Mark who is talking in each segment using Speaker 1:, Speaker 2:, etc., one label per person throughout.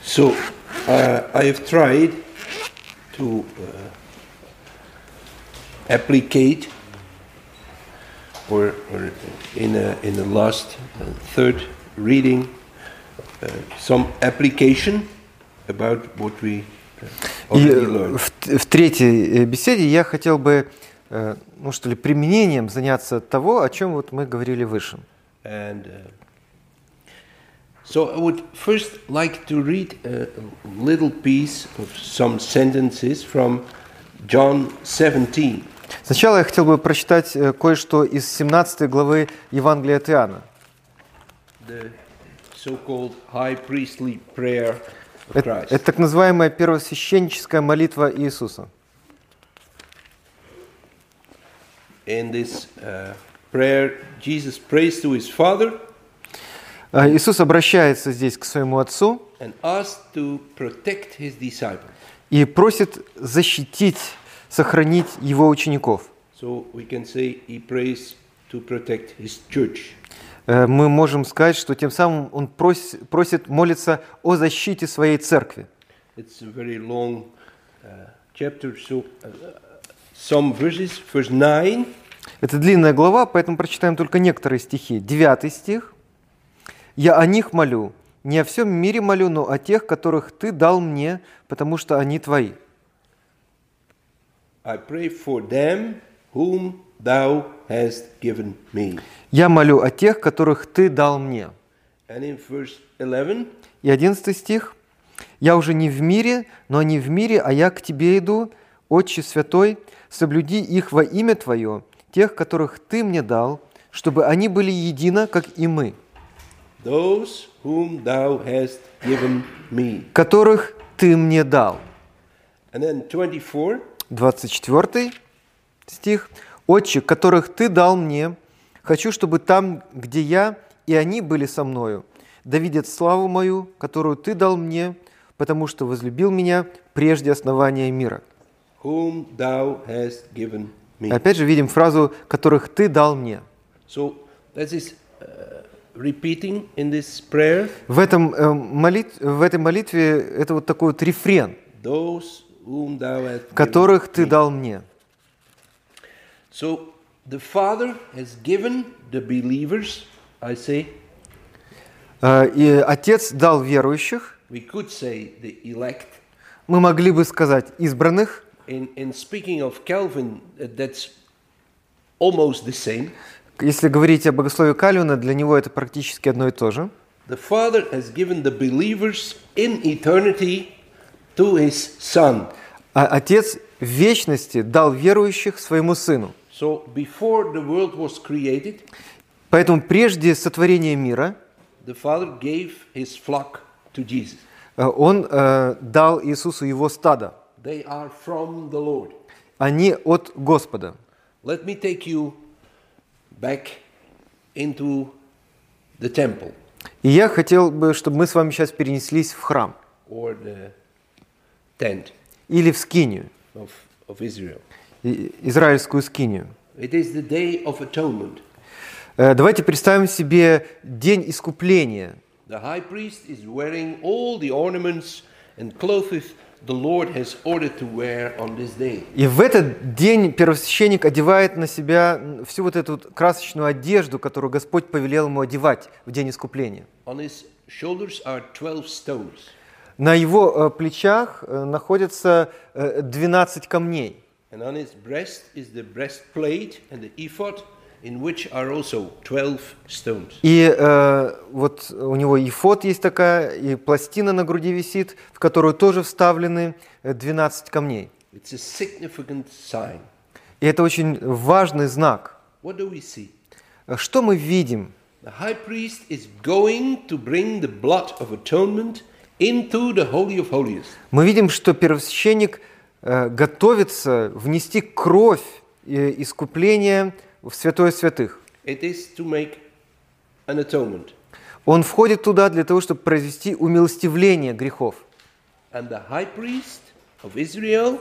Speaker 1: So I have tried to applicate, or in the last third reading, some application about what we already learned.
Speaker 2: В третьей беседе я хотел бы, применением заняться того, о чем вот мы говорили выше.
Speaker 1: And so I would first like to read a little piece of some sentences from John 17.
Speaker 2: Сначала я хотел бы прочитать кое-что из 17 главы Евангелия от Иоанна.
Speaker 1: The so-called high priestly prayer of Christ.
Speaker 2: Это так называемая первосвященническая молитва Иисуса.
Speaker 1: In this prayer, Jesus prays to his Father
Speaker 2: Иисус обращается здесь к своему Отцу
Speaker 1: and asks to protect his disciples.
Speaker 2: и просит защитить, сохранить его учеников.
Speaker 1: So we can say he prays to protect his church.
Speaker 2: Мы можем сказать, что тем самым он просит молиться о защите своей церкви.
Speaker 1: It's a very long chapter, so some verses, verse 9.
Speaker 2: Это длинная глава, поэтому прочитаем только некоторые стихи. 9 стих. «Я о них молю, не о всем мире молю, но о тех, которых Ты дал мне, потому что они Твои».
Speaker 1: I pray for them whom thou hast given me.
Speaker 2: «Я молю о тех, которых Ты дал мне».
Speaker 1: And in verse 11,
Speaker 2: И 11 стих. «Я уже не в мире, но они в мире, а я к Тебе иду, Отче Святой, соблюди их во имя Твое, тех, которых Ты мне дал, чтобы они были едино, как и мы».
Speaker 1: those whom thou hast given me.
Speaker 2: «Которых Ты мне дал».
Speaker 1: And then 24,
Speaker 2: 24 стих. «Отче, которых Ты дал мне, хочу, чтобы там, где я, и они были со мною, да видят славу мою, которую Ты дал мне, потому что возлюбил меня прежде основания мира».
Speaker 1: whom thou hast given me.
Speaker 2: Опять же видим фразу «которых Ты дал мне».
Speaker 1: So that is repeating in this prayer.
Speaker 2: В этой молитве это вот такой вот рефрен,
Speaker 1: Those whom thou hast given
Speaker 2: «которых Ты
Speaker 1: me.
Speaker 2: дал мне».
Speaker 1: So the Father has given the believers, I say,
Speaker 2: И Отец дал верующих,
Speaker 1: we could say the elect.
Speaker 2: мы могли бы сказать избранных.
Speaker 1: In speaking of Calvin, that's almost the same.
Speaker 2: Если говорить о богословии Кальвина, для него это практически одно и то же.
Speaker 1: The Father has given the believers in eternity to His Son.
Speaker 2: А Отец в вечности дал верующих своему Сыну.
Speaker 1: So before the world was created,
Speaker 2: Поэтому прежде сотворения мира
Speaker 1: the Father gave His flock to Jesus.
Speaker 2: Он дал Иисусу его стадо.
Speaker 1: They are from the Lord.
Speaker 2: Они от Господа.
Speaker 1: Let me take you back into the temple
Speaker 2: И я хотел бы, чтобы мы с вами сейчас перенеслись в храм
Speaker 1: or the tent
Speaker 2: или в скинию,
Speaker 1: of Israel.
Speaker 2: израильскую скинию.
Speaker 1: It is the day of atonement.
Speaker 2: Давайте представим себе день искупления.
Speaker 1: The high priest is wearing all the ornaments and clothes the Lord has ordered to wear on this day.
Speaker 2: И в этот день первосвященник одевает на себя всю вот эту красочную одежду, которую Господь повелел ему одевать в день искупления.
Speaker 1: On his shoulders are 12 stones.
Speaker 2: На его плечах находятся 12 камней.
Speaker 1: And on his breast is the breastplate and the ephod, in which are also 12 stones.
Speaker 2: И вот у него ефод есть такая, и пластина на груди висит, в которую тоже вставлены 12 камней.
Speaker 1: It's a significant sign.
Speaker 2: И это очень важный знак.
Speaker 1: What do we see?
Speaker 2: Что мы видим?
Speaker 1: The high priest is going to bring the blood of atonement into the Holy of Holies.
Speaker 2: Мы видим, что первосвященник готовится внести кровь искупления в святое святых.
Speaker 1: It is to make an atonement.
Speaker 2: Он входит туда для того, чтобы произвести умилостивление грехов.
Speaker 1: And the high priest of Israel,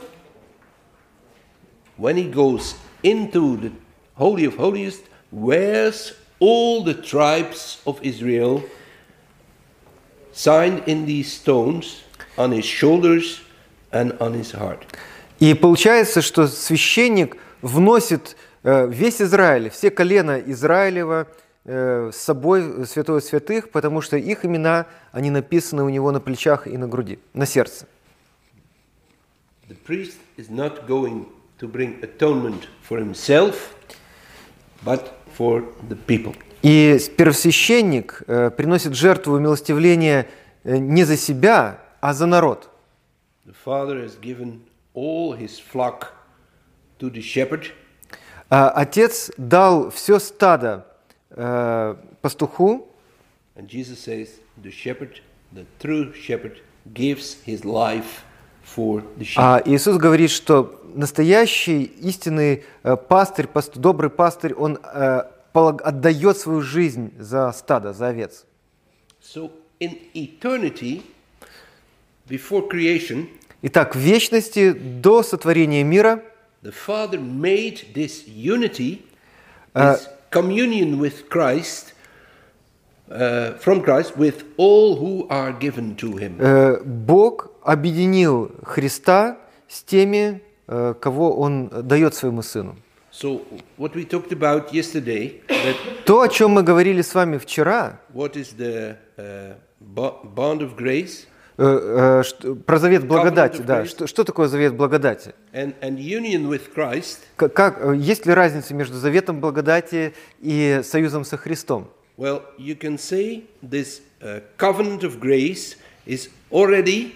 Speaker 1: when he goes into the Holy of Holies, wears all the tribes of Israel signed in these stones on his shoulders and on his heart.
Speaker 2: И получается, что священник вносит весь Израиль, все колена Израилева с собой в святое святых, потому что их имена, они написаны у него на плечах и на груди, на сердце.
Speaker 1: The priest is not going to bring atonement for himself, but for the people.
Speaker 2: И первосвященник приносит жертву умилостивления не за себя, а за народ.
Speaker 1: The father has given all his flock to the shepherd.
Speaker 2: Отец дал все стадо пастуху,
Speaker 1: And Jesus says, the shepherd, the true shepherd, gives his life for the sheep.
Speaker 2: а Иисус говорит, что настоящий, истинный пастырь, добрый пастырь, он отдает свою жизнь за стадо, за овец.
Speaker 1: So in eternity, before creation,
Speaker 2: Итак, в вечности, до сотворения мира,
Speaker 1: the Father made this unity, this communion with Christ, from Christ, with all who are given to him.
Speaker 2: Бог объединил Христа с теми, кого Он дает своему Сыну.
Speaker 1: So what we talked about yesterday, that
Speaker 2: То, о чем мы говорили с вами вчера,
Speaker 1: what is the bond of grace
Speaker 2: про завет благодати,
Speaker 1: Covenant of
Speaker 2: да,
Speaker 1: grace.
Speaker 2: что такое завет благодати?
Speaker 1: and union with Christ,
Speaker 2: Есть ли разница между заветом благодати и союзом со Христом?
Speaker 1: well, you can say this covenant of grace is already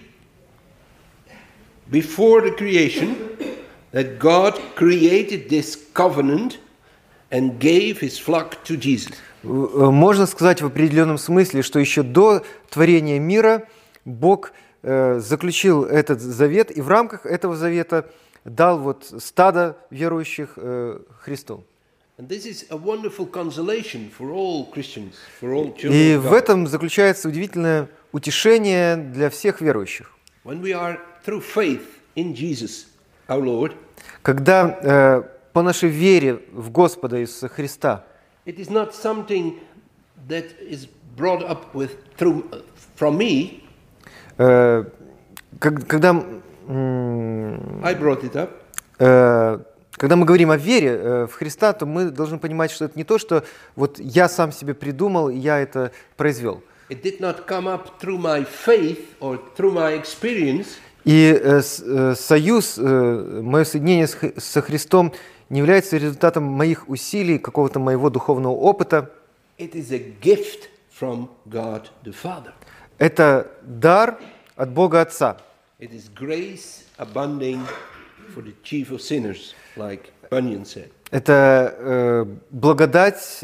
Speaker 1: before the creation, that God created this covenant and gave his flock to Jesus.
Speaker 2: Можно сказать в определенном смысле, что еще до творения мира Бог заключил этот завет и в рамках этого завета дал вот стадо верующих Христу.
Speaker 1: And this is a wonderful consolation for all Christians, for all
Speaker 2: И
Speaker 1: children of
Speaker 2: в
Speaker 1: God.
Speaker 2: этом заключается удивительное утешение для всех верующих.
Speaker 1: When we are through faith in Jesus, our Lord,
Speaker 2: Когда по нашей вере в Господа Иисуса Христа,
Speaker 1: it is not something that is brought up with from me.
Speaker 2: когда
Speaker 1: I brought it up.
Speaker 2: Когда мы говорим о вере в Христа, то мы должны понимать, что это не то, что вот я сам себе придумал, и я это произвел.
Speaker 1: It did not come up through my faith or through my experience.
Speaker 2: И союз, мое соединение со Христом не является результатом моих усилий, какого-то моего духовного опыта.
Speaker 1: It is a gift from God the Father.
Speaker 2: Это дар от Бога Отца.
Speaker 1: It is grace abounding for the chief of sinners, like Bunyan said.
Speaker 2: Это благодать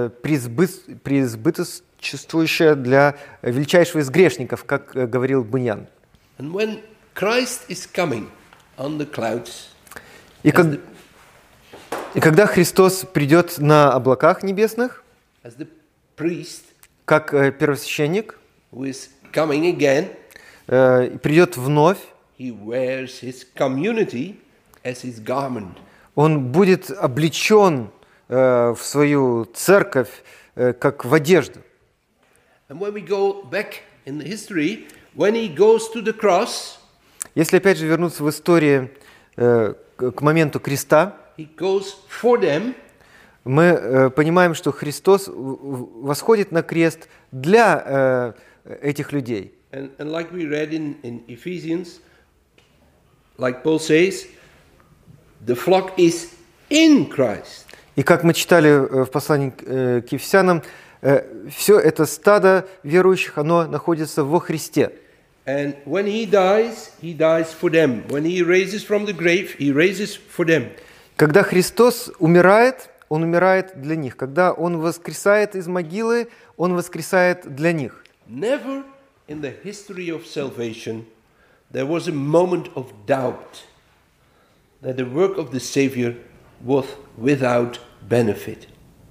Speaker 2: преизбыточествующая для величайшего из грешников, как говорил Буньян.
Speaker 1: And when Christ is coming on the clouds,
Speaker 2: И когда Христос придет на облаках небесных,
Speaker 1: as the priest
Speaker 2: как первосвященник,
Speaker 1: who is coming again,
Speaker 2: придет вновь,
Speaker 1: he wears his community as his garment.
Speaker 2: он будет облечен в свою церковь, как в одежду.
Speaker 1: And when we go back in the history, when he goes to the cross,
Speaker 2: Если опять же вернуться в историю к моменту креста,
Speaker 1: he goes for them,
Speaker 2: мы понимаем, что Христос восходит на крест для этих людей.
Speaker 1: and like we read in Ephesians, like Paul says, the flock is in Christ.
Speaker 2: И как мы читали в послании к Ефесянам, все это стадо верующих, оно находится во Христе.
Speaker 1: And when he dies for them. When he raises from the grave, he raises for them.
Speaker 2: Когда Христос умирает, Он умирает для них. Когда Он воскресает из могилы, Он воскресает для них.
Speaker 1: Never in the history of salvation there was a moment of doubt that the work of the Savior was without benefit.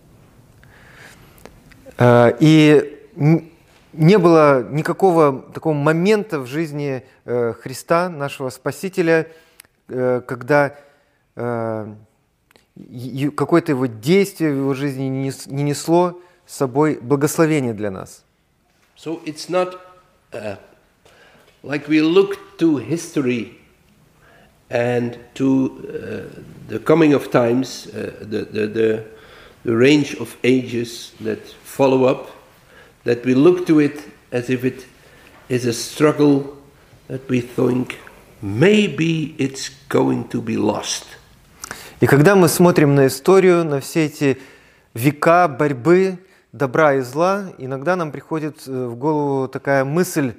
Speaker 2: И не было никакого такого момента в жизни Христа, нашего Спасителя, когда какое-то его действие в его жизни не несло с собой благословение для нас.
Speaker 1: So it's not like we look to history and to the coming of times, the range of ages that follow up, that we look to it as if it is a struggle that we think maybe it's going to be lost.
Speaker 2: И когда мы смотрим на историю, на все эти века борьбы добра и зла, иногда нам приходит в голову такая мысль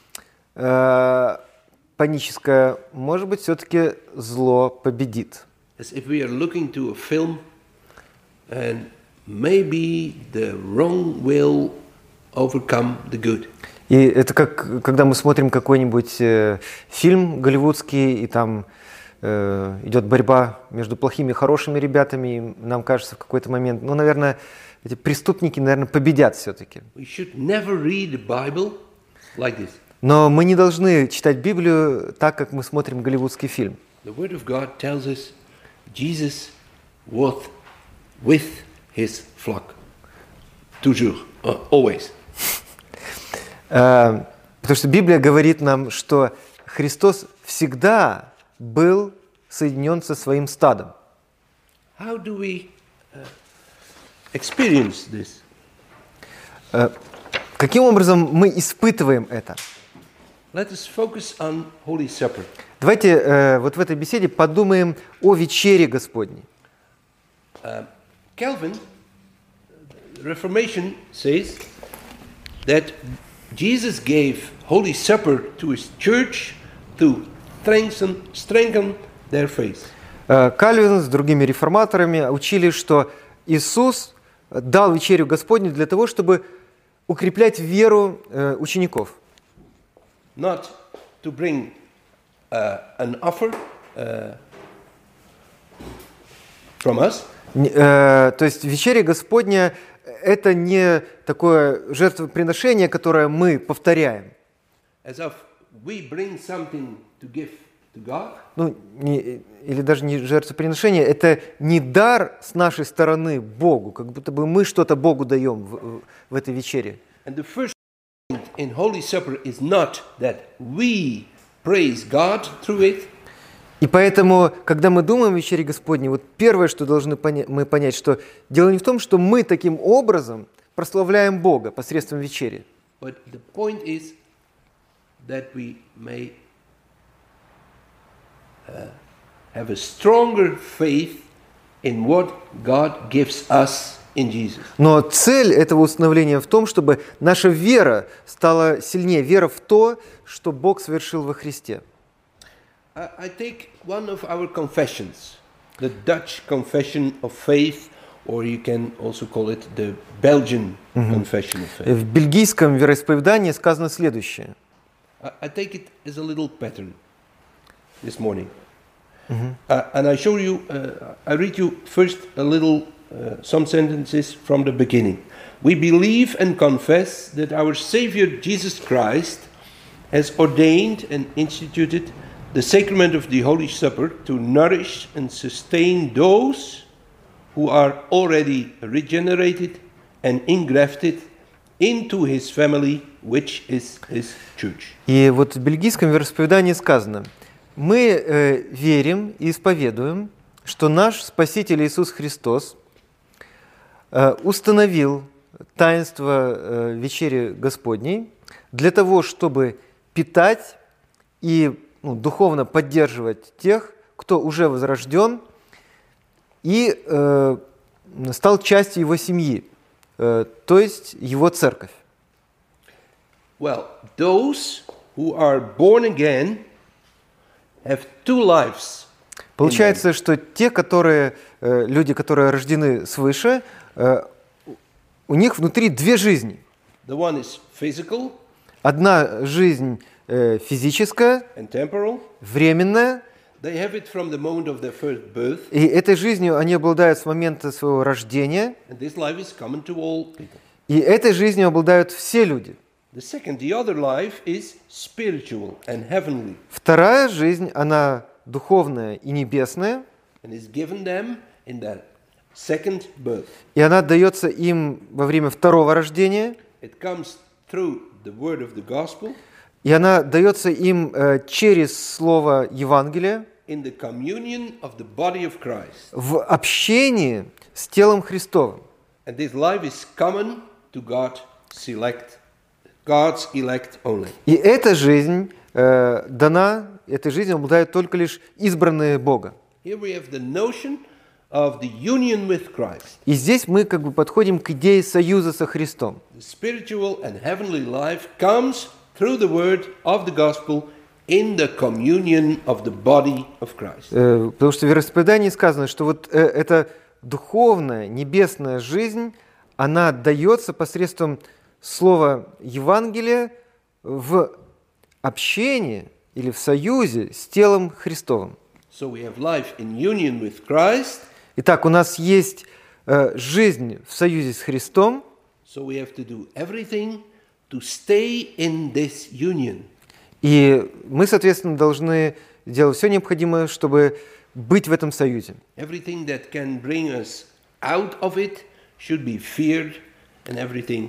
Speaker 2: паническая: может быть, все-таки зло победит.
Speaker 1: As if we are looking to a film and maybe the wrong will overcome the good.
Speaker 2: И это как когда мы смотрим какой-нибудь фильм голливудский, и там идет борьба между плохими и хорошими ребятами, и нам кажется в какой-то момент, ну, наверное, эти преступники, наверное, победят все-таки.
Speaker 1: We should never read the Bible like this.
Speaker 2: Но мы не должны читать Библию так, как мы смотрим голливудский фильм.
Speaker 1: The Word of God tells us Jesus was with his flock. Toujours, always.
Speaker 2: Потому что Библия говорит нам, что Христос всегда был соединен со своим стадом.
Speaker 1: How do we experience this?
Speaker 2: Каким образом мы испытываем это?
Speaker 1: Let us focus on Holy Supper.
Speaker 2: Давайте вот в этой беседе подумаем о вечере Господней.
Speaker 1: Calvin, Reformation says that Jesus gave Holy Supper to his church to strengthen their faith.
Speaker 2: Кальвин с другими реформаторами учили, что Иисус дал вечерю Господню для того, чтобы укреплять веру учеников.
Speaker 1: Not to bring an offer from us.
Speaker 2: То есть вечеря Господня – это не такое жертвоприношение, которое мы повторяем.
Speaker 1: As if we bring something to give to God.
Speaker 2: Ну, или даже не жертвоприношение, это не дар с нашей стороны Богу, как будто бы мы что-то Богу даем в этой вечере.
Speaker 1: And the first point in Holy Supper is not that we praise God through it.
Speaker 2: И поэтому, когда мы думаем о вечере Господней, вот первое, что должны мы понять, что дело не в том, что мы таким образом прославляем Бога посредством вечери.
Speaker 1: But the point is that we may have a stronger faith in what God gives us in Jesus.
Speaker 2: Но цель этого установления в том, чтобы наша вера стала сильнее, вера в то, что Бог совершил во Христе.
Speaker 1: I take one of our confessions, the Dutch Confession of Faith, or you can also call it the Belgian Confession of Faith.
Speaker 2: В бельгийском вероисповедании сказано следующее.
Speaker 1: I take it as a little pattern this morning. And I show you, I read you first a little, some sentences from the beginning. We believe and confess that our Savior Jesus Christ has ordained and instituted the sacrament of the Holy Supper to nourish and sustain those who are already regenerated and engrafted into his family, which is his church.
Speaker 2: И вот в бельгийском вероисповедании сказано: мы верим и исповедуем, что наш Спаситель Иисус Христос установил таинство вечери Господней для того, чтобы питать и духовно поддерживать тех, кто уже возрожден и стал частью его семьи, то есть его церковь.
Speaker 1: Well, those who are born again have two lives.
Speaker 2: Получается, что те, люди, которые рождены свыше, у них внутри две жизни.
Speaker 1: The one is physical,
Speaker 2: одна жизнь физическая,
Speaker 1: and temporal.
Speaker 2: Временная.
Speaker 1: They have it from the moment of their first birth.
Speaker 2: И этой жизнью они обладают с момента своего рождения.
Speaker 1: And this life is common to all people.
Speaker 2: И этой жизнью обладают все люди.
Speaker 1: The other life is spiritual and heavenly.
Speaker 2: Вторая жизнь, она духовная и небесная.
Speaker 1: And is given them in their second birth.
Speaker 2: И она дается им во время второго рождения.
Speaker 1: It comes through the word of the gospel,
Speaker 2: и она дается им через слово Евангелия
Speaker 1: in the communion of the body of Christ.
Speaker 2: в общении с телом Христовым.
Speaker 1: And this life is common to God's elect only.
Speaker 2: И эта жизнь дана, этой жизнью обладают только лишь избранные Бога.
Speaker 1: Here we have the notion of the union with Christ.
Speaker 2: И здесь мы как бы подходим к идее союза со Христом.
Speaker 1: The spiritual and heavenly life comes through the word of the gospel in the communion of the body of Christ.
Speaker 2: Потому что в вероисповедании сказано, что вот эта духовная, небесная жизнь, она дается посредством слова Евангелия в общении или в союзе с телом Христовым.
Speaker 1: So we have life in union with Christ.
Speaker 2: Итак, у нас есть жизнь в союзе с Христом,
Speaker 1: So we have to do everything to stay in this union.
Speaker 2: и мы, соответственно, должны делать все необходимое, чтобы быть в этом союзе.
Speaker 1: Everything that can bring us out of it should be feared, and everything.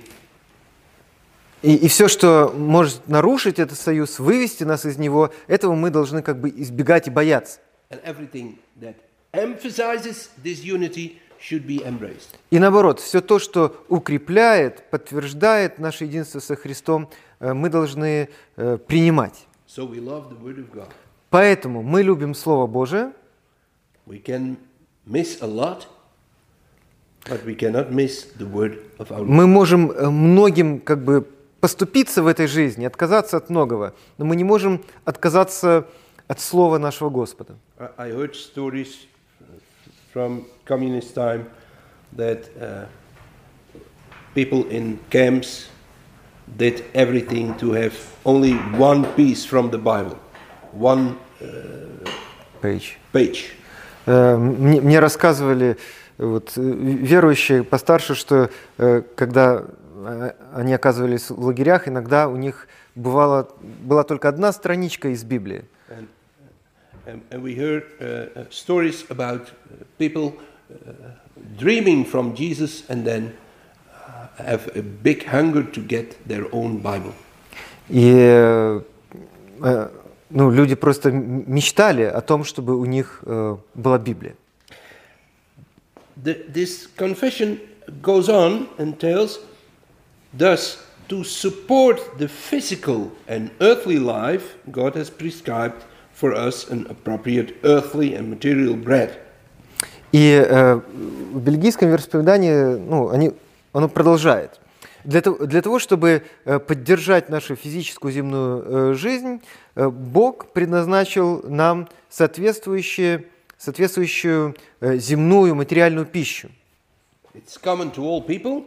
Speaker 2: И все, что может нарушить этот союз, вывести нас из него, этого мы должны как бы избегать и бояться.
Speaker 1: And everything that emphasizes this unity should be embraced.
Speaker 2: И наоборот, все то, что укрепляет, подтверждает наше единство со Христом, мы должны принимать.
Speaker 1: So we love the word of God.
Speaker 2: Поэтому мы любим Слово Божие.
Speaker 1: We can miss a lot, but we cannot miss the word of our Lord.
Speaker 2: Мы можем многим как бы поступиться в этой жизни, отказаться от многого, но мы не можем отказаться от Слова нашего Господа.
Speaker 1: I heard stories from communist time that people in camps did everything to have only one piece from the Bible, one page.
Speaker 2: Мне рассказывали вот, верующие постарше, что когда они оказывались в лагерях, иногда у них была только одна страничка из Библии.
Speaker 1: And we heard stories about people dreaming from Jesus and then have a big hunger to get their own Bible.
Speaker 2: И люди просто мечтали о том, чтобы у них была Библия.
Speaker 1: This confession goes on and tells, thus, to support the physical and earthly life, God has prescribed for us an appropriate earthly and material bread.
Speaker 2: И в бельгийском вероисповедании, оно продолжает. Для того, чтобы поддержать нашу физическую земную жизнь, Бог предназначил нам соответствующую земную материальную пищу.
Speaker 1: It's common to all people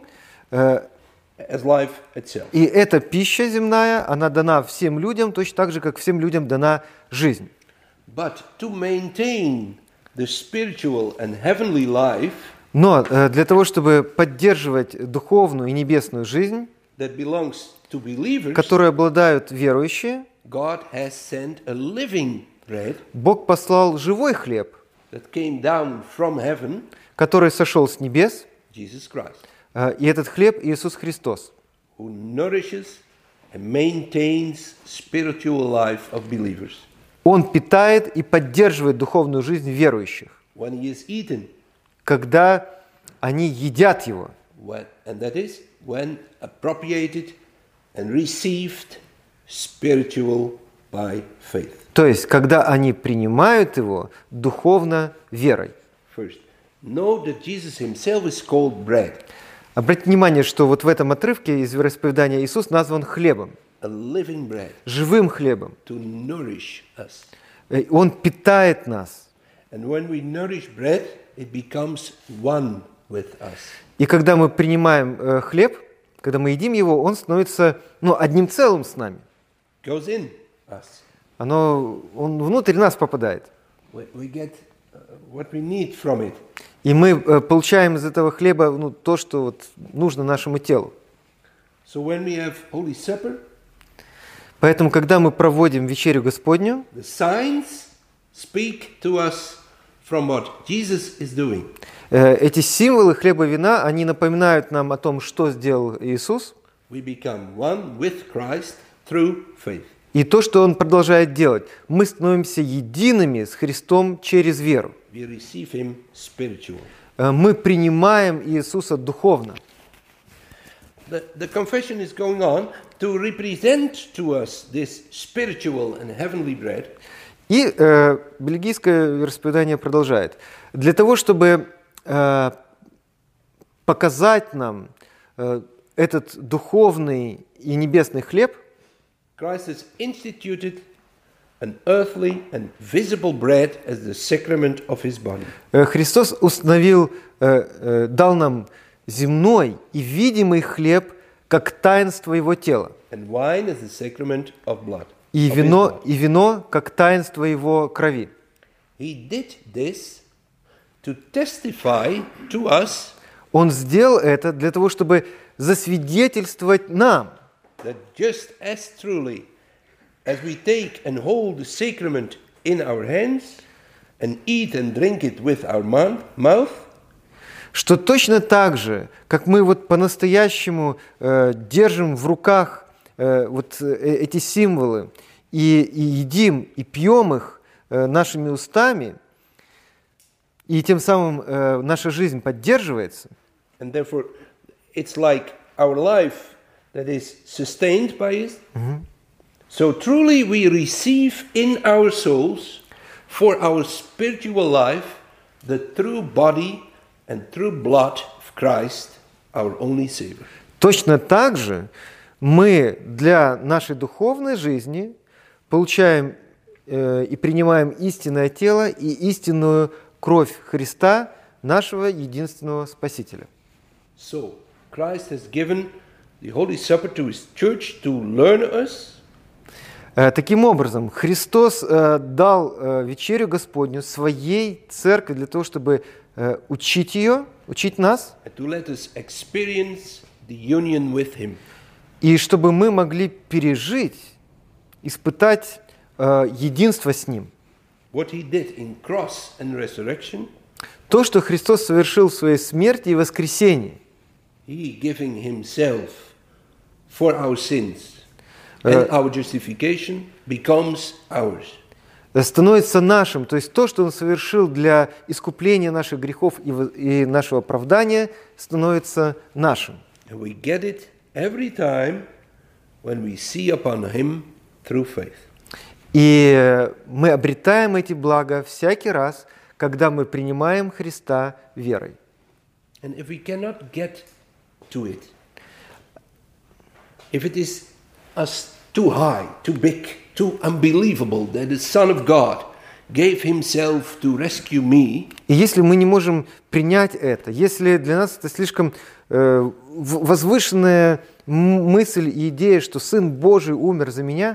Speaker 1: as life itself.
Speaker 2: И эта пища земная, она дана всем людям, точно так же, как всем людям дана жизнь.
Speaker 1: But to maintain the spiritual and heavenly life,
Speaker 2: но для того, чтобы поддерживать духовную и небесную жизнь,
Speaker 1: that belongs to believers,
Speaker 2: которой обладают верующие,
Speaker 1: God has sent a living bread,
Speaker 2: Бог послал живой хлеб,
Speaker 1: that came down from heaven,
Speaker 2: который сошел с небес,
Speaker 1: Jesus Christ,
Speaker 2: и этот хлеб Иисус Христос,
Speaker 1: who nourishes and maintains spiritual life of believers.
Speaker 2: Он питает и поддерживает духовную жизнь верующих,
Speaker 1: When he is eaten,
Speaker 2: когда они едят его.
Speaker 1: and that is when appropriated and received spiritual by faith.
Speaker 2: То есть, когда они принимают его духовно верой.
Speaker 1: First, know that Jesus himself is called bread.
Speaker 2: Обратите внимание, что вот в этом отрывке из вероисповедания Иисус назван хлебом,
Speaker 1: A living bread
Speaker 2: живым хлебом.
Speaker 1: to nourish us.
Speaker 2: Он питает нас.
Speaker 1: And when we nourish bread, it becomes one with us.
Speaker 2: И когда мы принимаем хлеб, когда мы едим его, он становится одним целым с нами.
Speaker 1: Goes in us.
Speaker 2: Он внутрь нас попадает.
Speaker 1: We get what we need from it.
Speaker 2: И мы получаем из этого хлеба то, что вот нужно нашему телу.
Speaker 1: So when we have Holy Supper,
Speaker 2: Поэтому, когда мы проводим вечерю Господню,
Speaker 1: the signs speak to us from what Jesus is doing.
Speaker 2: Эти символы хлеба и вина, они напоминают нам о том, что сделал Иисус.
Speaker 1: we become one with Christ through faith.
Speaker 2: И то, что Он продолжает делать, мы становимся едиными с Христом через веру.
Speaker 1: We receive him spiritually.
Speaker 2: Мы принимаем Иисуса духовно.
Speaker 1: The confession is going on to represent to us this spiritual and heavenly bread.
Speaker 2: И бельгийское вероисповедание продолжает. Для того, чтобы показать нам этот духовный и небесный хлеб,
Speaker 1: Christ has instituted an earthly and visible bread as the sacrament of his body.
Speaker 2: Христос установил, дал нам земной и видимый хлеб как таинство Его тела,
Speaker 1: And wine as the sacrament of blood.
Speaker 2: и
Speaker 1: of his body.
Speaker 2: вино как таинство Его крови.
Speaker 1: He did this to testify to us
Speaker 2: Он сделал это для того, чтобы засвидетельствовать нам,
Speaker 1: that just as truly as we take and hold the sacrament in our hands and eat and drink it with our mouth,
Speaker 2: что точно так же, как мы вот по-настоящему держим в руках эти символы и едим и пьем их нашими устами, и тем самым наша жизнь поддерживается.
Speaker 1: and therefore it's like our life that is sustained by it. So truly we receive in our souls for our spiritual life the true body and true blood of Christ, our only Savior.
Speaker 2: Точно так же мы для нашей духовной жизни получаем и принимаем истинное тело и истинную кровь Христа, нашего единственного Спасителя.
Speaker 1: So Christ has given the Holy Supper to his church to learn us.
Speaker 2: Таким образом, Христос дал вечерю Господню своей церкви для того, чтобы учить ее, учить нас,
Speaker 1: And to let us experience the union with him.
Speaker 2: и чтобы мы могли пережить, испытать единство с Ним.
Speaker 1: What he did in cross and resurrection,
Speaker 2: То, что Христос совершил в Своей смерти и воскресении,
Speaker 1: he giving himself for our sins and our justification becomes ours.
Speaker 2: становится нашим. То есть то, что Он совершил для искупления наших грехов и нашего оправдания, становится нашим.
Speaker 1: And we get it every time when we see upon him through faith.
Speaker 2: И мы обретаем эти блага всякий раз, когда мы принимаем Христа верой.
Speaker 1: And if we cannot get to it, if it is us too high, too big, too unbelievable that the Son of God gave himself to rescue me,
Speaker 2: И если мы не можем принять это, если для нас это слишком возвышенная мысль и идея, что Сын Божий умер за меня,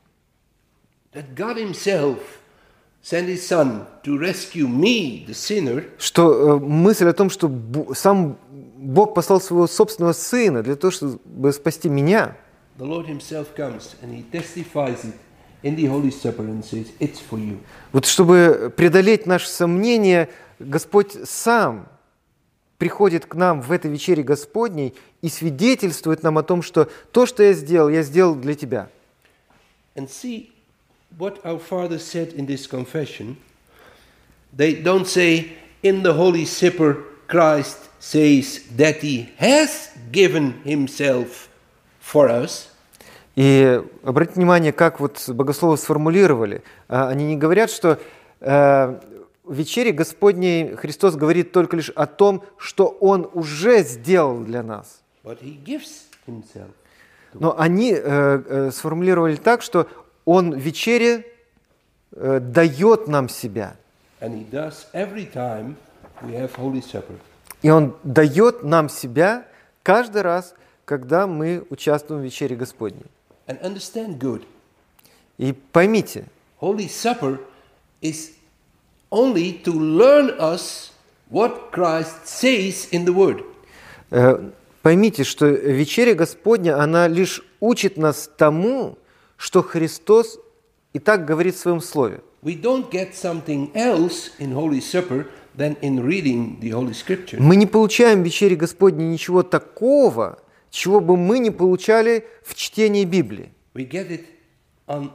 Speaker 1: that God himself sent his Son to rescue me, the sinner,
Speaker 2: что мысль о том, что сам Бог послал своего собственного Сына для того, чтобы спасти меня,
Speaker 1: the Lord himself comes and he testifies it in the Holy Supper and says, it's for you.
Speaker 2: вот чтобы преодолеть наши сомнения, Господь сам приходит к нам в этой вечере Господней и свидетельствует нам о том, что то, что я сделал для тебя.
Speaker 1: And see what our Father said in this confession. They don't say, in the Holy Supper, Christ says that he has given himself for us.
Speaker 2: И обратите внимание, как вот богословы сформулировали. Они не говорят, что в вечере Господней Христос говорит только лишь о том, что Он уже сделал для нас.
Speaker 1: But he gives himself.
Speaker 2: Но они сформулировали так, что Он в вечере дает нам себя.
Speaker 1: And he does every time we have Holy Supper.
Speaker 2: И Он дает нам себя каждый раз, когда мы участвуем в вечере Господней.
Speaker 1: And understand good.
Speaker 2: И поймите,
Speaker 1: Holy Supper is only to learn us what Christ says in the Word.
Speaker 2: поймите, что вечеря Господня, она лишь учит нас тому, что Христос и так говорит в Своем Слове.
Speaker 1: We don't get something else in Holy Supper than in reading the Holy Scripture.
Speaker 2: Мы не получаем в вечере Господней ничего такого, чего бы мы не получали в чтении Библии.
Speaker 1: We get it in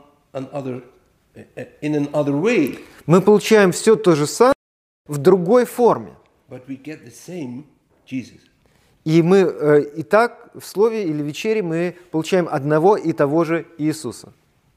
Speaker 1: another way,
Speaker 2: Мы получаем все то же самое в другой форме.
Speaker 1: but we get the same Jesus.
Speaker 2: И мы и так в слове или вечере мы получаем одного и того же Иисуса.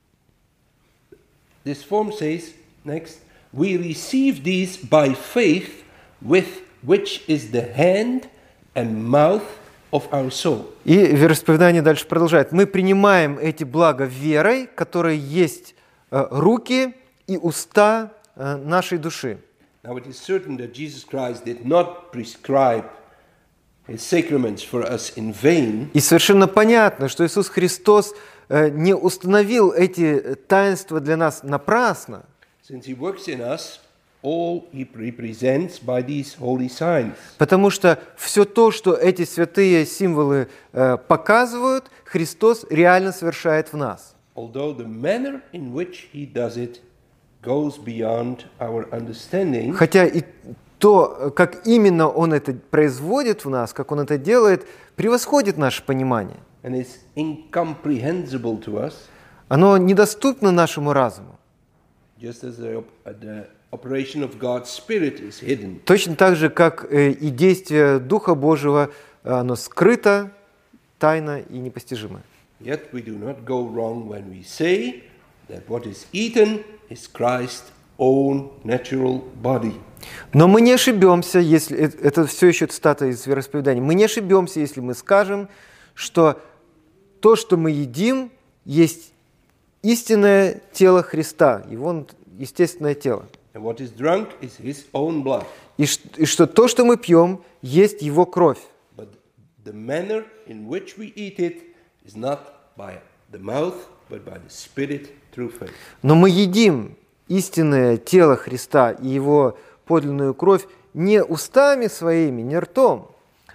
Speaker 1: This form says, next, we receive these by faith, with which is the hand and mouth of our soul.
Speaker 2: И вероисповедание дальше продолжает. Мы принимаем эти блага верой, которые есть руки и уста нашей души.
Speaker 1: Now it is certain that Jesus Christ did not prescribe His sacraments for us in vain.
Speaker 2: И совершенно понятно, что Иисус Христос не установил эти таинства для нас напрасно,
Speaker 1: Since He works in us, all He represents by these holy signs.
Speaker 2: потому что все то, что эти святые символы показывают, Христос реально совершает в нас.
Speaker 1: Although the manner in which He does it goes beyond our understanding,
Speaker 2: Хотя и то, как именно Он это производит в нас, как Он это делает, превосходит наше понимание.
Speaker 1: and is incomprehensible to us,
Speaker 2: Оно недоступно нашему разуму.
Speaker 1: just as the operation of God's Spirit is hidden.
Speaker 2: Точно так же, как и действие Духа Божьего, оно скрыто, тайно и непостижимо.
Speaker 1: Yet we do not go wrong when we say that what is eaten is Christ's own natural body.
Speaker 2: Но мы не ошибемся, если... Это все еще цитата из вероисповедания. Мы не ошибемся, если мы скажем, что то, что мы едим, есть истинное тело Христа, Его естественное тело.
Speaker 1: And what is drunk is His own blood.
Speaker 2: И что то, что мы пьем, есть Его кровь.
Speaker 1: But the manner in which we eat it is not by the mouth, but by the Spirit through faith.
Speaker 2: Но мы едим истинное тело Христа и Его подлинную кровь не устами своими, не ртом,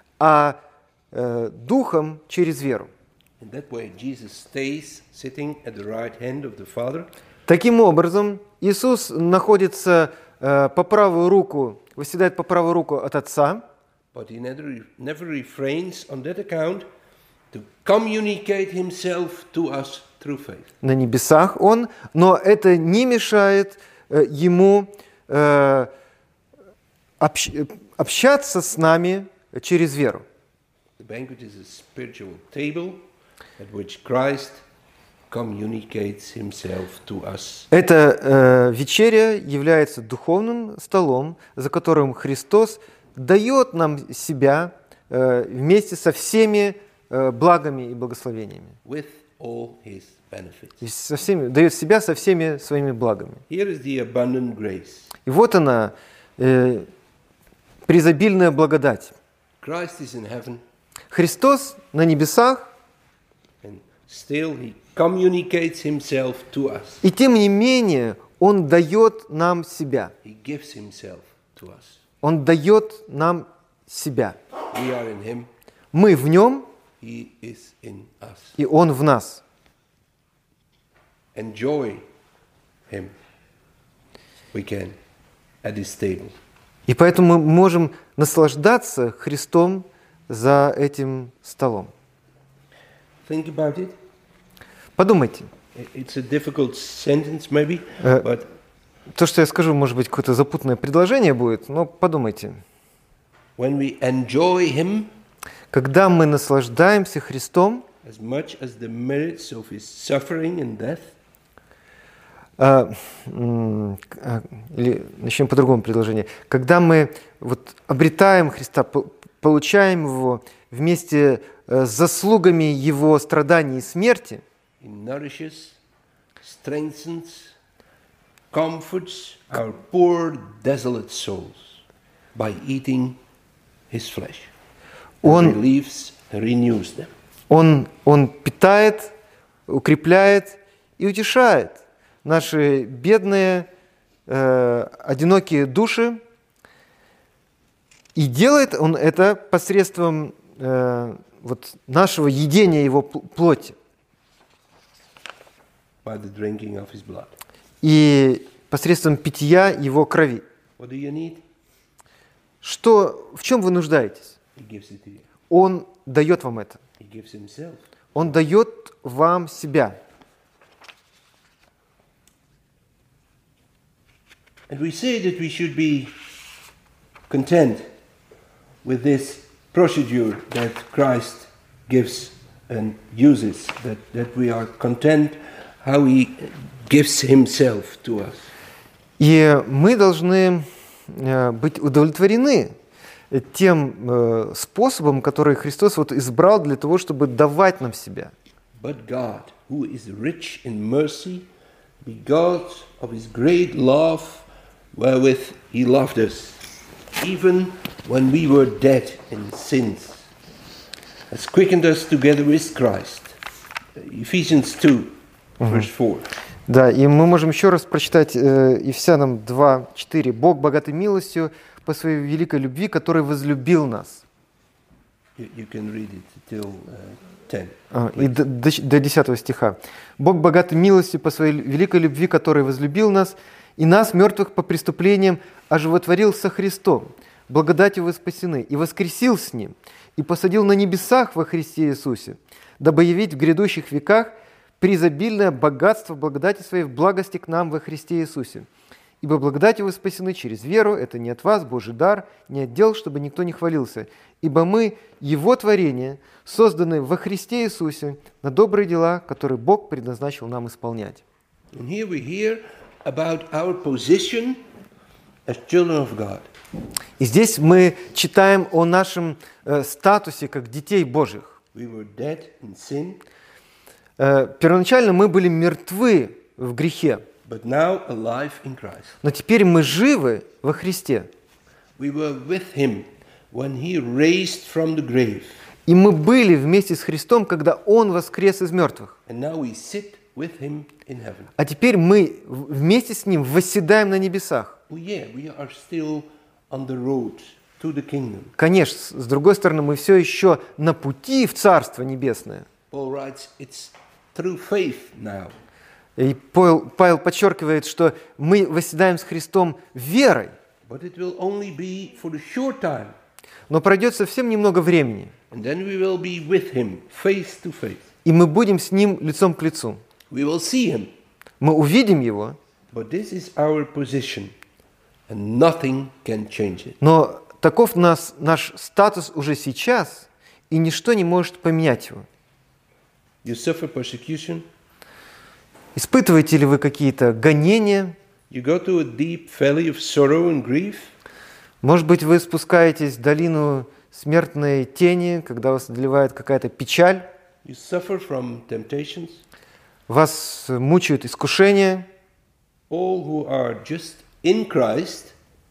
Speaker 2: а духом через веру.
Speaker 1: In that way, Jesus stays sitting at the right hand of the Father,
Speaker 2: Таким образом, Иисус находится по правую руку, восседает по правую руку от Отца,
Speaker 1: but He never refrains on that account to communicate Himself to us through faith.
Speaker 2: на небесах Он, но это не мешает Ему общаться с нами через веру.
Speaker 1: The banquet is a spiritual table at which Christ communicates Himself to us.
Speaker 2: Эта вечеря является духовным столом, за которым Христос дает нам себя вместе со всеми благами и благословениями.
Speaker 1: With all His benefits.
Speaker 2: И дает себя со всеми своими благами.
Speaker 1: Here is the abundant grace.
Speaker 2: И вот она, преизобильная благодать.
Speaker 1: Christ is in heaven,
Speaker 2: Христос на небесах,
Speaker 1: and still He communicates Himself to us.
Speaker 2: и тем не менее Он дает нам себя.
Speaker 1: He gives Himself to us.
Speaker 2: Он дает нам себя.
Speaker 1: We are in Him,
Speaker 2: Мы в Нем,
Speaker 1: He is in us.
Speaker 2: и Он в нас.
Speaker 1: Enjoy Him. We can at His table.
Speaker 2: И поэтому мы можем наслаждаться Христом за этим столом.
Speaker 1: Think about it.
Speaker 2: Подумайте.
Speaker 1: It's a difficult sentence, maybe, but
Speaker 2: То, что я скажу, может быть, какое-то запутанное предложение будет, но подумайте.
Speaker 1: when we enjoy Him
Speaker 2: Когда мы наслаждаемся Христом,
Speaker 1: as much as the merits of His suffering and death,
Speaker 2: или начнем по другому предложению. Когда мы вот обретаем Христа, получаем Его вместе с заслугами Его страданий и смерти,
Speaker 1: He nourishes, strengthens, comforts our poor, desolate souls by eating His flesh.
Speaker 2: Он-
Speaker 1: Relieves, renews them.
Speaker 2: Он питает, укрепляет и утешает наши бедные, одинокие души. И делает Он это посредством вот нашего едения Его плоти
Speaker 1: By the drinking of His blood.
Speaker 2: и посредством питья Его крови.
Speaker 1: What do you need?
Speaker 2: В чем вы нуждаетесь?
Speaker 1: He gives it to you.
Speaker 2: Он дает вам это.
Speaker 1: He gives himself.
Speaker 2: Он дает вам себя.
Speaker 1: And we say that we should be content with this procedure that Christ gives and uses, that we are content how he gives himself to us.
Speaker 2: И мы должны быть удовлетворены тем способом, который Христос вот избрал для того, чтобы давать нам себя.
Speaker 1: But God, who is rich in mercy, because of his great love wherewith he loved us, even when we were dead in sins, has quickened us together with Christ. Ephesians 2, verse 4.
Speaker 2: Да, и мы можем еще раз прочитать Ефесянам 2:4. «Бог, богатой милостью, по своей великой любви, который возлюбил нас».
Speaker 1: You can read it till 10.
Speaker 2: И до 10 стиха. «Бог, богатой милостью, по своей великой любви, который возлюбил нас, и нас, мертвых по преступлениям, оживотворил со Христом. Благодатью вы спасены, и воскресил с Ним, и посадил на небесах во Христе Иисусе, дабы явить в грядущих веках преизобильное богатство благодати Своей в благости к нам во Христе Иисусе. Ибо благодатью вы спасены через веру, это не от вас, Божий дар, не от дел, чтобы никто не хвалился. Ибо мы, Его творение, созданы во Христе Иисусе на добрые дела, которые Бог предназначил нам исполнять».
Speaker 1: And here we hear about our position as children of God.
Speaker 2: И здесь мы читаем о нашем статусе как детей Божьих.
Speaker 1: We were dead in sin,
Speaker 2: Первоначально мы были мертвы в грехе,
Speaker 1: but now alive in Christ.
Speaker 2: но теперь мы живы во Христе.
Speaker 1: We were with him when he raised from the grave,
Speaker 2: И мы были вместе с Христом, когда Он воскрес из мертвых.
Speaker 1: and now we sit with him in heaven.
Speaker 2: А теперь мы вместе с Ним восседаем на небесах.
Speaker 1: Oh yeah, we are still on the road to the kingdom.
Speaker 2: Конечно, с другой стороны, мы все еще на пути в Царство Небесное.
Speaker 1: Paul writes, it's through faith now.
Speaker 2: И Павел подчеркивает, что мы восседаем с Христом верой,
Speaker 1: But it will only be for a short time.
Speaker 2: но пройдет совсем немного времени,
Speaker 1: And then we will be with him, face to face.
Speaker 2: и мы будем с Ним лицом к лицу.
Speaker 1: We will see him.
Speaker 2: Мы увидим Его,
Speaker 1: But this is our position, and nothing can change it.
Speaker 2: но таков наш статус уже сейчас, и ничто не может поменять его.
Speaker 1: You suffer persecution,
Speaker 2: Испытываете ли вы какие-то гонения?
Speaker 1: you go to a deep valley of sorrow and grief,
Speaker 2: Может быть, вы спускаетесь в долину смертной тени, когда вас одолевает какая-то печаль,
Speaker 1: you suffer from temptations.
Speaker 2: вас мучают искушения.
Speaker 1: All who are just in Christ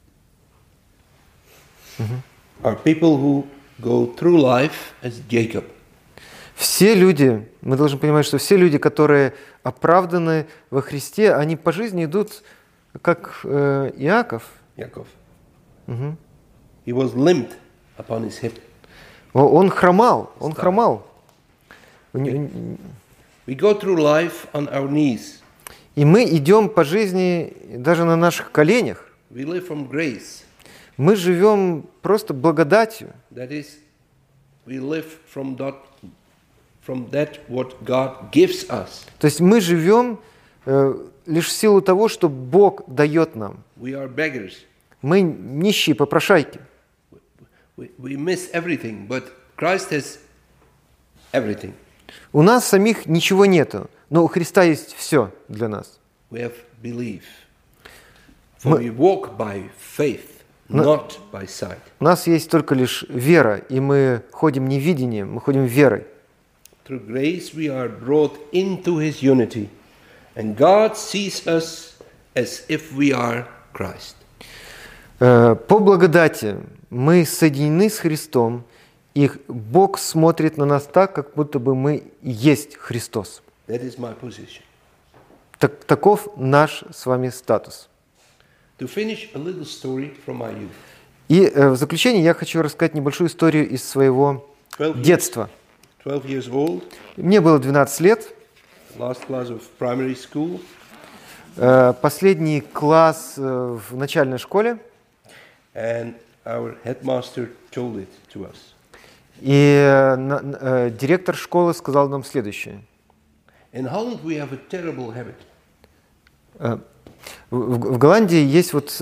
Speaker 1: are people who go through life as Jacob.
Speaker 2: Все люди, мы должны понимать, что все люди, которые оправданы во Христе, они по жизни идут как Иаков.
Speaker 1: Yaakov. He was limped upon his hip.
Speaker 2: Он хромал,
Speaker 1: We go through life on our knees.
Speaker 2: И мы идем по жизни даже на наших коленях.
Speaker 1: We live from grace.
Speaker 2: Мы живем просто благодатью.
Speaker 1: That is, we live from that what God gives us.
Speaker 2: То есть мы живем лишь в силу того, что Бог дает нам.
Speaker 1: We are beggars.
Speaker 2: Мы нищие попрошайки.
Speaker 1: We miss everything, but Christ has everything.
Speaker 2: У нас самих ничего нету, но у Христа есть все для нас.
Speaker 1: We have belief. For we walk by faith, not by sight.
Speaker 2: У нас есть только лишь вера, и мы ходим не видением, мы ходим верой.
Speaker 1: Through grace we are brought into His unity, and God sees us as if we are Christ.
Speaker 2: По благодати мы соединены с Христом, и Бог смотрит на нас так, как будто бы мы и есть Христос.
Speaker 1: That is my position.
Speaker 2: Таков наш с вами статус.
Speaker 1: To finish a little story from my youth.
Speaker 2: И в заключение я хочу рассказать небольшую историю из своего
Speaker 1: 12
Speaker 2: детства.
Speaker 1: 12 years old,
Speaker 2: Мне было 12 лет.
Speaker 1: last class of primary school,
Speaker 2: Последний класс в начальной школе.
Speaker 1: and our headmaster told it to us.
Speaker 2: И директор школы сказал нам следующее.
Speaker 1: In Holland we have a terrible habit.
Speaker 2: В Голландии есть вот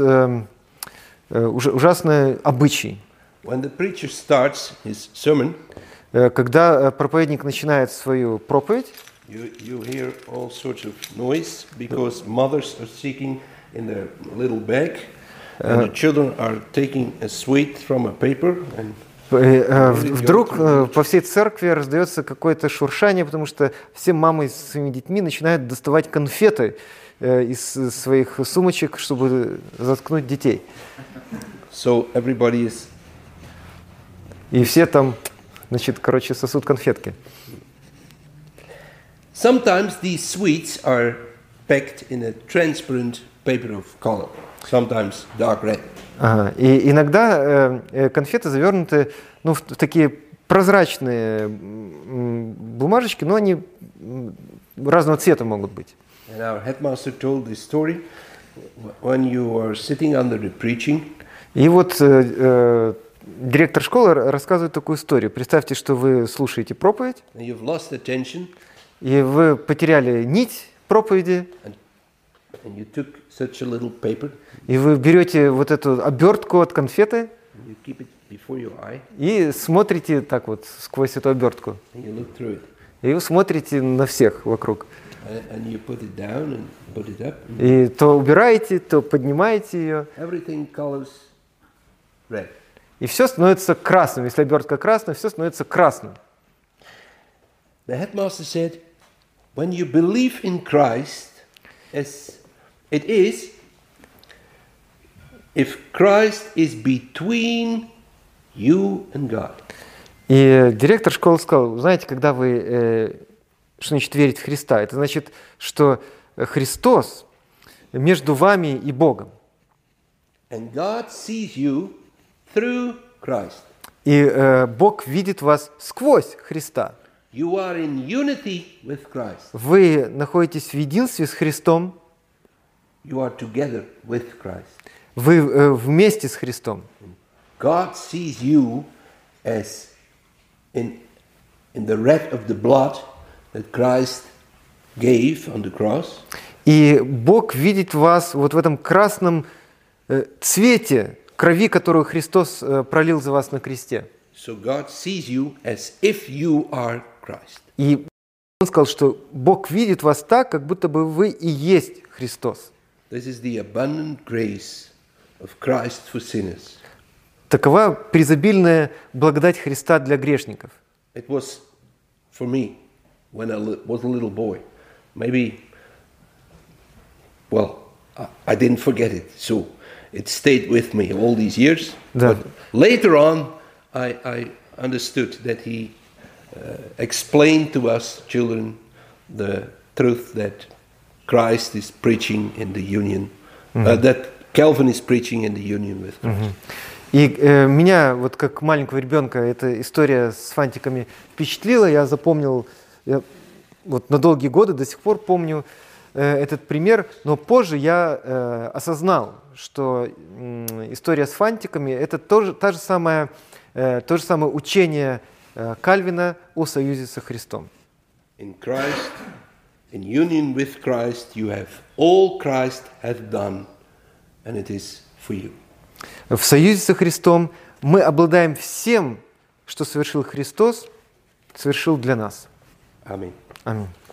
Speaker 2: ужасный обычай.
Speaker 1: When the preacher starts his sermon,
Speaker 2: когда проповедник начинает свою проповедь,
Speaker 1: you hear all sorts of noise because mothers are sitting in their little bag and the children are taking a sweet from a paper and
Speaker 2: вдруг по всей церкви раздается какое-то шуршание, потому что все мамы с своими детьми начинают доставать конфеты из своих сумочек, чтобы заткнуть детей.
Speaker 1: So everybody is...
Speaker 2: И все там, значит, короче, сосут конфетки.
Speaker 1: Sometimes these sweets are packed in a transparent paper of color, sometimes dark red.
Speaker 2: Ага. И иногда конфеты завернуты, ну, в такие прозрачные бумажечки, но они разного цвета могут быть.
Speaker 1: And our headmaster told this story when you are sitting under the preaching.
Speaker 2: И вот директор школы рассказывает такую историю. Представьте, что вы слушаете проповедь,
Speaker 1: And you've lost attention,
Speaker 2: и вы потеряли нить проповеди,
Speaker 1: and you took such a little paper,
Speaker 2: и вы берете вот эту обертку от конфеты
Speaker 1: and you keep it before your eye,
Speaker 2: и смотрите так вот сквозь эту обертку.
Speaker 1: and you look through it.
Speaker 2: И вы смотрите на всех вокруг.
Speaker 1: And you put it down and put it up.
Speaker 2: И то убираете, то поднимаете ее.
Speaker 1: Everything colors red.
Speaker 2: И все становится красным. Если обертка красная, все становится красным.
Speaker 1: The headmaster said, when you believe in Christ, as it is, if Christ is between you and God.
Speaker 2: И директор школы сказал, знаете, когда вы, что значит верить в Христа? Это значит, что Христос между вами и Богом.
Speaker 1: And God sees you through Christ.
Speaker 2: И Бог видит вас сквозь Христа.
Speaker 1: You are in unity with Christ.
Speaker 2: Вы находитесь в единстве с Христом.
Speaker 1: You are together with Christ.
Speaker 2: Вы вместе с Христом.
Speaker 1: God sees you as in the red of the blood that Christ gave on the cross.
Speaker 2: И Бог видит вас вот в этом красном цвете крови, которую Христос пролил за вас на кресте.
Speaker 1: So God sees you as if you are Christ.
Speaker 2: И Он сказал, что Бог видит вас так, как будто бы вы и есть Христос.
Speaker 1: This is the abundant grace of Christ for sinners.
Speaker 2: Такова преизобильная благодать Христа для грешников.
Speaker 1: It was for me when I was a little boy. Maybe, well, I didn't forget it, so it stayed with me all these years.
Speaker 2: Да.
Speaker 1: But later on, I understood that he explained to us children the truth that Christ is preaching in the union, that Calvin is preaching in the union with Christ.
Speaker 2: И меня, вот как маленького ребенка, эта история с фантиками впечатлила. Я запомнил, вот на долгие годы до сих пор помню этот пример, но позже я осознал, что история с фантиками – это то же самое учение Кальвина о союзе со Христом.
Speaker 1: In Christ, in union with Christ, you have all Christ hath done, and it is for you.
Speaker 2: В союзе со Христом мы обладаем всем, что совершил Христос, совершил для нас.
Speaker 1: Аминь.
Speaker 2: Аминь.